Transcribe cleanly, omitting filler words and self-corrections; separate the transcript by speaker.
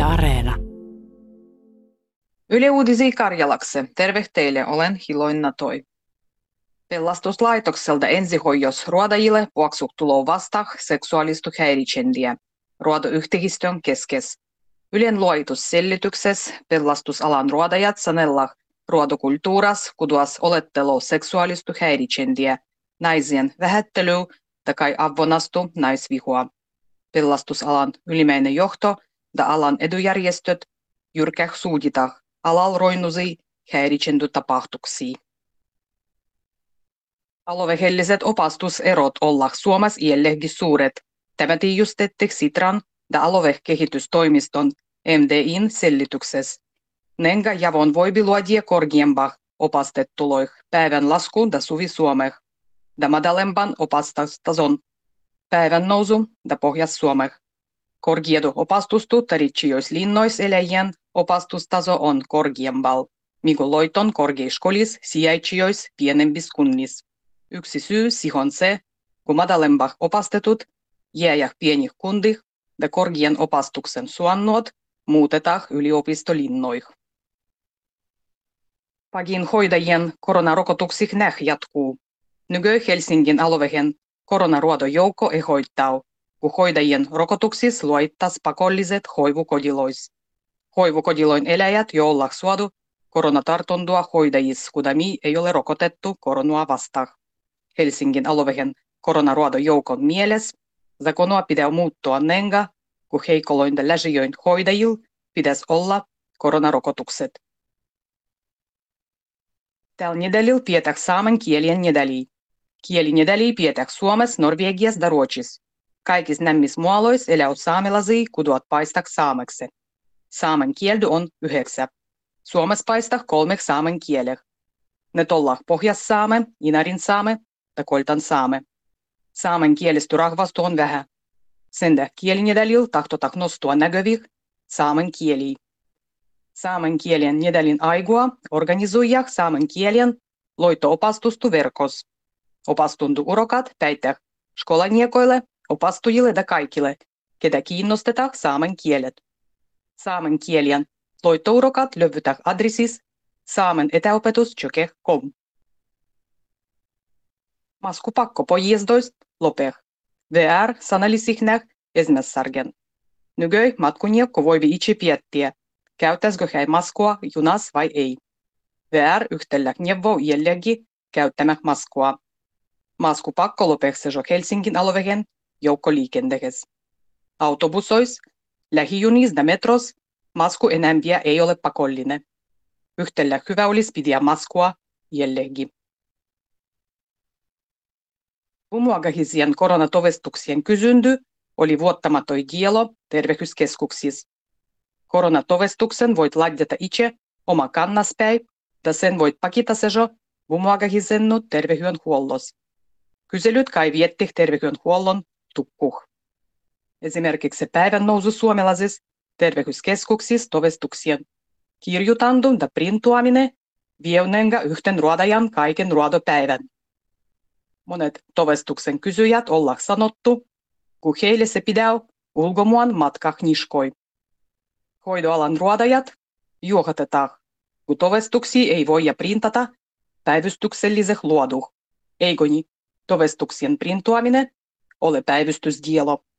Speaker 1: Yle Areena.
Speaker 2: Yle Uutisia Karjalakse. Terve teille, olen Hiloina Toi. Pelastuslaitokselta ensihoijos ruodajille puoksuttulo vasta seksuaalista häiritsendiä. Ruodoyhtehistön keskes. Ylen luoitussellityksessä pelastusalan ruodajat sanella ruodokulttuuras kuduas olettelo seksuaalista häiritsendiä, naisien vähättely takai avonastu naisvihua. Pelastusalan ylimäinen johto ja alan edujärjestöt jyrkäh suudita alal roinusi häiritsendy tapahtuksia. Alueelliset opastuserot olla Suomessa iälläkin suuret. Tämä tiijustettiin Sitran ja aluekehitystoimiston MDIn sellityksessä. Nenga javon voibi luodia korkeampaa opastettuloih päivän laskuun ja suvi Suomeh, ja madalempan opastustason päivän nousu ja pohjas Suomeh. Korkeadu opastustu taritsijos linnois eläjien opastustaso on korkeampal, mikä loiton korkeaskolis sijaitsijos pienemmis kunnis. Yksi syy siihen se, kun madalempah opastetut jääjäh pienih kundih ja korkean opastuksen suonnuot muutetaan yliopistolinnoih. Pagin hoidajien koronarokotuksih jatkuu. Nyky Helsingin alueen koronaruodojoukko ehoittaa, kun hoidajien rokotuksis luottas pakolliset hoivukodilois. Hoivukodiloin eläjät, joilla suodu koronatartuntua hoidajis, kudami ei ole rokotettu koronaa vastaan. Helsingin alueen koronaruodojoukon mieles zakonoa pitää muuttua nenga, kun heikolointa läsijöin hoidajil pitäisi olla koronarokotukset. Tällä nedälil pidetään saamen kielien nedäliä. Kielinedäliä pidetään Suomessa, Norvegiassa ja Ruotsissa. Kaikissa nämmissä muoloissa elää saamelaisia, kuduat paistak saameksi. Saamen kieldy on 9. Suomessa paistak 3 saamen kieleh. Ne ollaan pohjas-saame, inarin-saame ja koltan-saame. Saamen kielistä rahvastu on vähän. Sen kielinedälil tahtotak nostua näkövih saamen kieliä. Saamen kielien nedälin aigua organisoijah saamen kielien loito-opastustu verkos. Opastuntu urokat päittäh skolaniekoille, opastujille ja kaikille, ketä kiinnostetaan saamen kielet. Saamen kielien loitourokat löyvytään adressis saamenetäopetus.com. Maskupakko pojezdoist lopeh. VR sanalisihnäh esmässargen. Nygöi matkuniekko voivi itse piettiä, käyttäisikö hän maskua junas vai ei. VR yhtälläh neuvoo jällägi käyttämäh maskua. Maskupakko lopehsejo Helsingin alueen joukkoliikenteessä. Autobusois, lähijunis ja metros masku enämpiä ei ole pakollinen. Yhtälläh hyvä olisi pidä maskua jällägi. Umuagahisien koronatovestuksien kysyndy oli vuottamatoi kielo terveyskeskuksissa. Koronatovestuksen voit laittaa itse oma kannaspäin ja sen voit pakita sejo umuagahisennu terveydenhuollos. Kyselyt kai vietti terveydenhuollon tukkuh. Esimerkiksi päivän nousu suomalaisissa terveyskeskuksissa tovestuksien kirjutandu ja printuaminen vieunenga yhten ruodajan kaiken ruodopäivän. Monet tovestuksen kysyjät ollaan sanottu, kun heille se pidää ulkomuun matkah niskoi. Hoidoalan ruodajat juohatetaan, kun tovestuksia ei voi printata päivystykselliseh luoduh. Eikö niin? Tovestuksien printuaminen ole päivystysdielo.